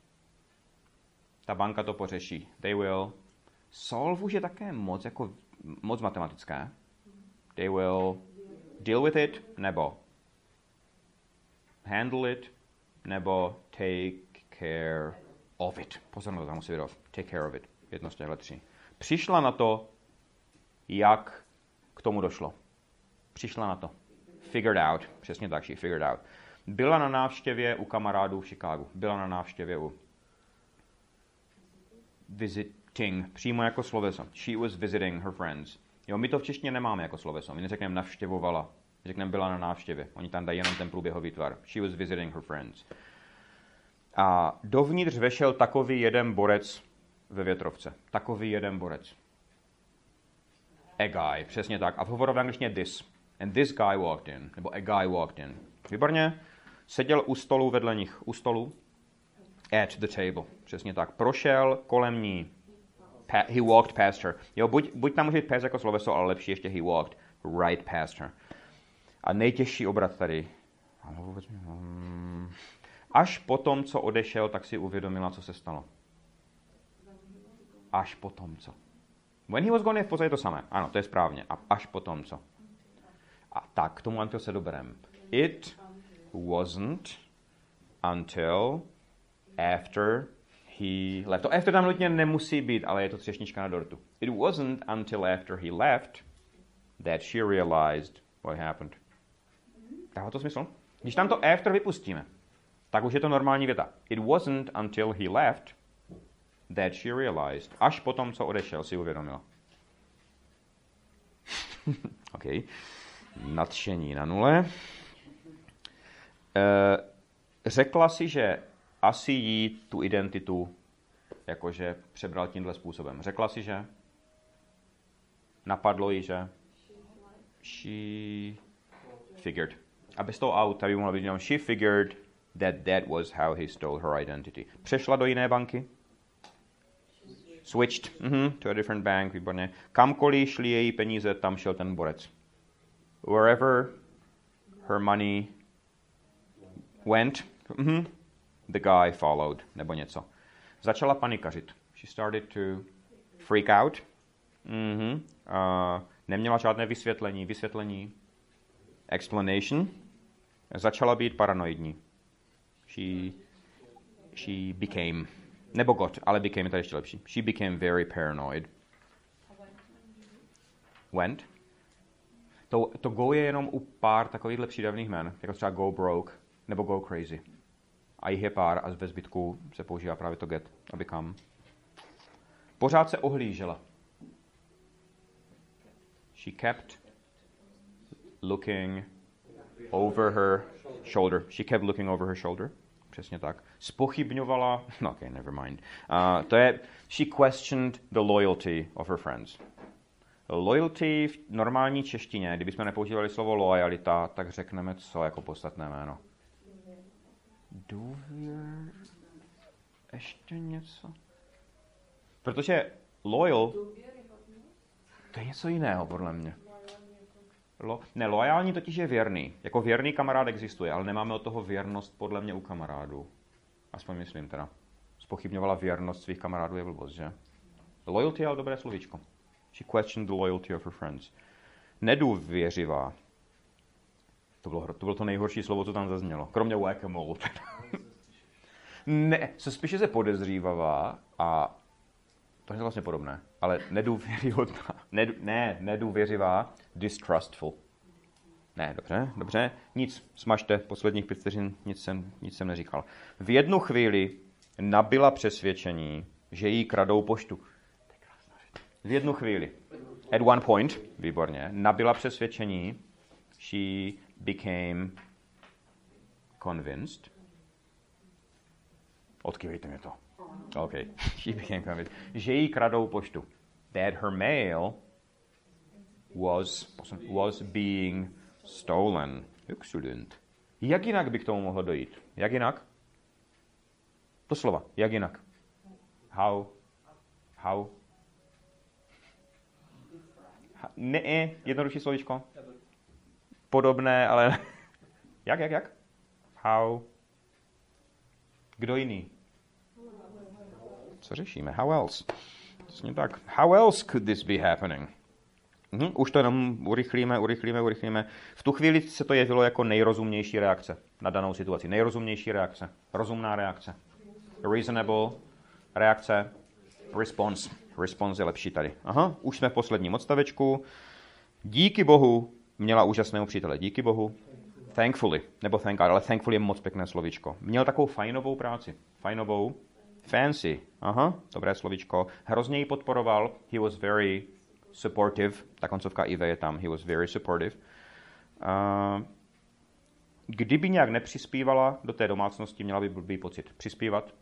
Ta banka to pořeší. They will. Solve už je také moc matematické. They will deal with it, nebo handle it, nebo take care of it. Pozor na to, tam musí být take care of it. Jedno z těchto tří. Přišla na to, jak k tomu došlo. Přišla na to. Figured out. Přesně tak, she figured out. Byla na návštěvě u kamarádů v Chicagu. Byla na návštěvě u visiting, přímo jako sloveso. She was visiting her friends. Jo, my to v češtině nemáme jako sloveso. My neřekneme navštěvovala. Řekneme byla na návštěvě. Oni tam dají jenom ten průběhový tvar. She was visiting her friends. A dovnitř vešel takový jeden borec ve větrovce. Takový jeden borec. A guy, přesně tak. A v hovoru v angličtině this. And this guy walked in. Nebo a guy walked in. Výborně. Seděl u stolu vedle nich. U stolu. At the table. Přesně tak. Prošel kolem ní. He walked past her. Jo, buď tam může být past jako sloveso, ale lepší ještě he walked right past her. A nejtěžší obrat tady. Až potom, co odešel, tak si uvědomila, co se stalo. Až potom, co. When he was gone je v podstatě to samé. Ano, to je správně. A až potom, co. A tak, k tomu until se doberem. It wasn't until after he left. To after tam nutně nemusí být, ale je to třešnička na dortu. It wasn't until after he left that she realized what happened. Dává to smysl? Když tam to after vypustíme, tak už je to normální věta. It wasn't until he left that she realized. Až potom, co odešel, si uvědomila. OK. Nadšení na nule. Řekla si, že asi jí tu identitu jakože přebral tímhle způsobem. Řekla si, že napadlo jí, že she figured. A bez toho out, tady by mohla být, she figured that was how he stole her identity. Přešla do jiné banky. Switched to a different bank, výborně. Kamkoliv šli její peníze, tam šel ten borec. Wherever her money went, the guy followed, nebo něco. Začala panikařit. She started to freak out. Neměla žádné vysvětlení. Explanation. Začala být paranoidní. She became, nebo got, ale became je tady ještě lepší. She became very paranoid. Went. To go je jenom u pár takovýchhle přídavných jmen, jako třeba go broke, nebo go crazy. A jich je pár a ve zbytku se používá právě to get a become. Pořád se ohlížela. She kept looking over her shoulder. She kept looking over her shoulder. Přesně tak. Zpochybňovala, no okay, never mind. To je, she questioned the loyalty of her friends. Loyalty v normální češtině, kdybychom nepoužívali slovo lojalita, tak řekneme co jako podstatné jméno. Důvěr... Ještě něco? Protože loyal... To je něco jiného, podle mě. Loajální totiž je věrný. Jako věrný kamarád existuje, ale nemáme od toho věrnost podle mě u kamarádů. Aspoň myslím teda. Zpochybňovala věrnost svých kamarádů je blbost, že? Loyalty je ale dobré slovíčko. She questioned the loyalty of her friends. Nedůvěřivá. To bylo to nejhorší slovo, co tam zaznělo. Kromě whack-a-mole. Ne, se spíše se podezřívavá a to je vlastně podobné, ale nedůvěryhodná. Nedůvěřivá, distrustful. Ne, dobře. Nic, smažte, posledních 5 vteřin, nic jsem neříkal. V jednu chvíli nabyla přesvědčení, že jí kradou poštu. V jednu chvíli. At one point, výborně, nabyla přesvědčení, she became convinced. Odkývejte mě to. Okay. She became convinced. Že jí kradou poštu. That her mail was being stolen. Excellent. Jak jinak by k tomu mohlo dojít? Jak jinak? To slova. Jak jinak? How? Ne, jednodušší slovíčko. Podobné, ale... Jak? How? Kdo jiný? Co řešíme? How else? Přesně tak. How else could this be happening? Už to jenom urychlíme. V tu chvíli se to jevilo jako nejrozumnější reakce na danou situaci. Nejrozumnější reakce. Rozumná reakce. reasonable, reakce, response. Response je lepší tady. Aha, už jsme v posledním odstavečku. Díky Bohu měla úžasného přítele. Díky Bohu. Thankfully, nebo thank God, ale thankfully je moc pěkné slovíčko. Měl takovou fajnovou práci. Fajnovou. Fancy. Aha, dobré slovíčko. Hrozně ji podporoval. He was very supportive. Ta koncovka IV je tam. He was very supportive. Kdyby nějak nepřispívala do té domácnosti, měla by blbý pocit. Přispívat?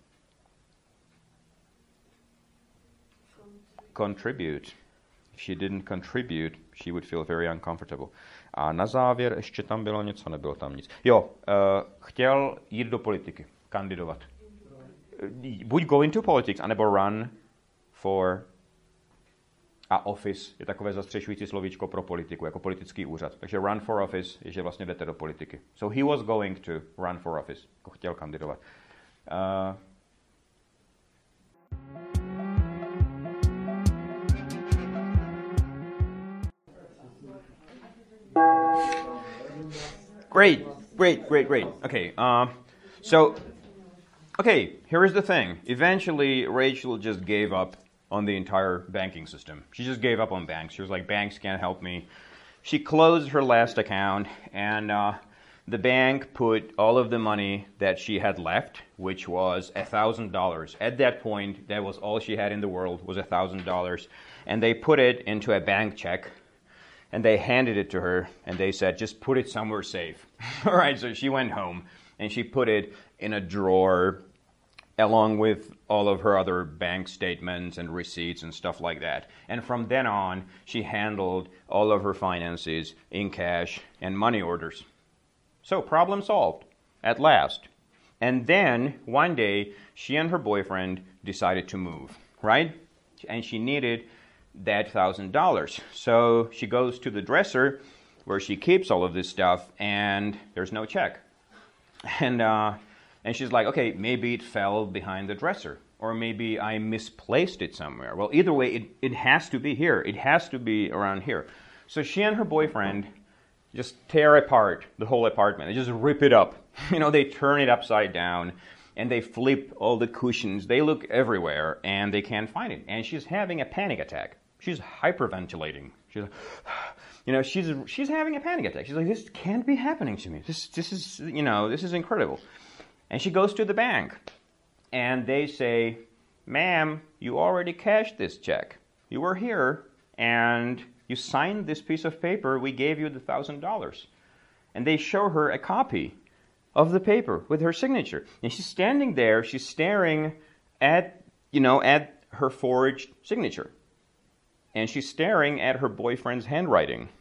Contribute. If she didn't contribute, she would feel very uncomfortable. A na závěr ještě tam bylo něco, nebylo tam nic. Jo, chtěl jít do politiky, kandidovat. Buď go into politics, anebo run for a office je takové zastřešující slovíčko pro politiku, jako politický úřad. Takže run for office je, že vlastně jdete do politiky. So he was going to run for office, jako chtěl kandidovat. Great. Okay, here is the thing. Eventually, Rachel just gave up on the entire banking system. She just gave up on banks. She was like, banks can't help me. She closed her last account, and the bank put all of the money that she had left, which was $1,000. At that point, that was all she had in the world, was $1,000. And they put it into a bank check, and they handed it to her, and they said, just put it somewhere safe. All right, so she went home, and she put it in a drawer along with all of her other bank statements and receipts and stuff like that. And from then on, she handled all of her finances in cash and money orders. So, problem solved, at last. And then, one day, she and her boyfriend decided to move, right? And she needed that $1,000. So, she goes to the dresser where she keeps all of this stuff, and there's no check. And she's like, okay, maybe it fell behind the dresser, or maybe I misplaced it somewhere. Well, either way, it has to be here. It has to be around here. So she and her boyfriend just tear apart the whole apartment. They just rip it up. They turn it upside down, and they flip all the cushions. They look everywhere, and they can't find it. And she's having a panic attack. She's hyperventilating. She's like, she's having a panic attack. She's like, this can't be happening to me. This is incredible. And she goes to the bank, and they say, ma'am, you already cashed this check. You were here, and you signed this piece of paper. We gave you the $1,000. And they show her a copy of the paper with her signature. And she's standing there, she's staring at her forged signature. And she's staring at her boyfriend's handwriting.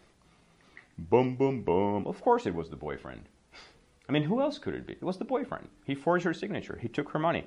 Boom, boom, boom. Of course it was the boyfriend. I mean, who else could it be? It was the boyfriend. He forged her signature. He took her money.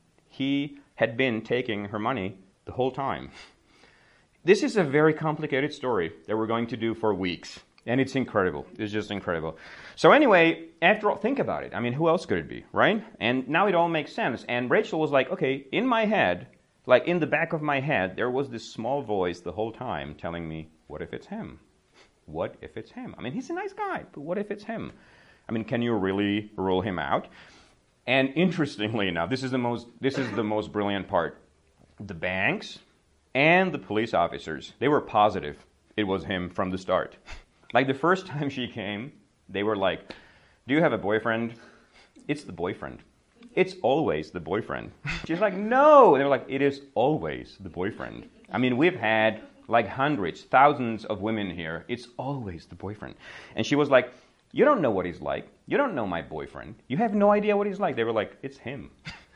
He had been taking her money the whole time. This is a very complicated story that we're going to do for weeks. And it's incredible. It's just incredible. So anyway, after all, think about it. I mean, who else could it be, right? And now it all makes sense. And Rachel was like, okay, in my head, like in the back of my head, there was this small voice the whole time telling me, what if it's him? What if it's him? I mean, he's a nice guy, but what if it's him? I mean, can you really rule him out? And interestingly enough, this is the most brilliant part. The banks and the police officers, they were positive it was him from the start. Like the first time she came, they were like, do you have a boyfriend? It's the boyfriend. It's always the boyfriend. She's like, no. And they were like, it is always the boyfriend. I mean, we've had like hundreds, thousands of women here. It's always the boyfriend. And she was like, you don't know what he's like. You don't know my boyfriend. You have no idea what he's like. They were like, it's him.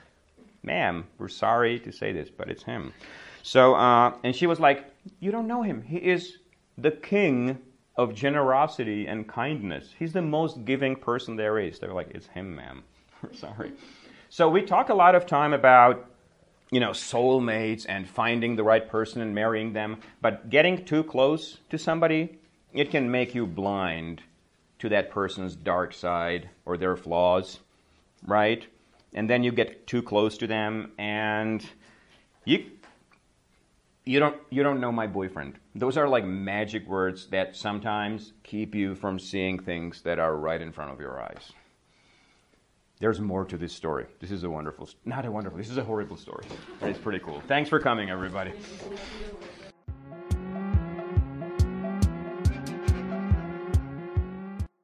Ma'am, we're sorry to say this, but it's him. So, and she was like, you don't know him. He is the king of generosity and kindness. He's the most giving person there is. They were like, it's him, ma'am. We're sorry. So we talk a lot of time about, soulmates and finding the right person and marrying them. But getting too close to somebody, it can make you blind to that person's dark side or their flaws, right? And then you get too close to them, and you don't know my boyfriend. Those are like magic words that sometimes keep you from seeing things that are right in front of your eyes. there's more to this story. This is a wonderful, not a wonderful, this is a horrible story. It's pretty cool. Thanks for coming, everybody.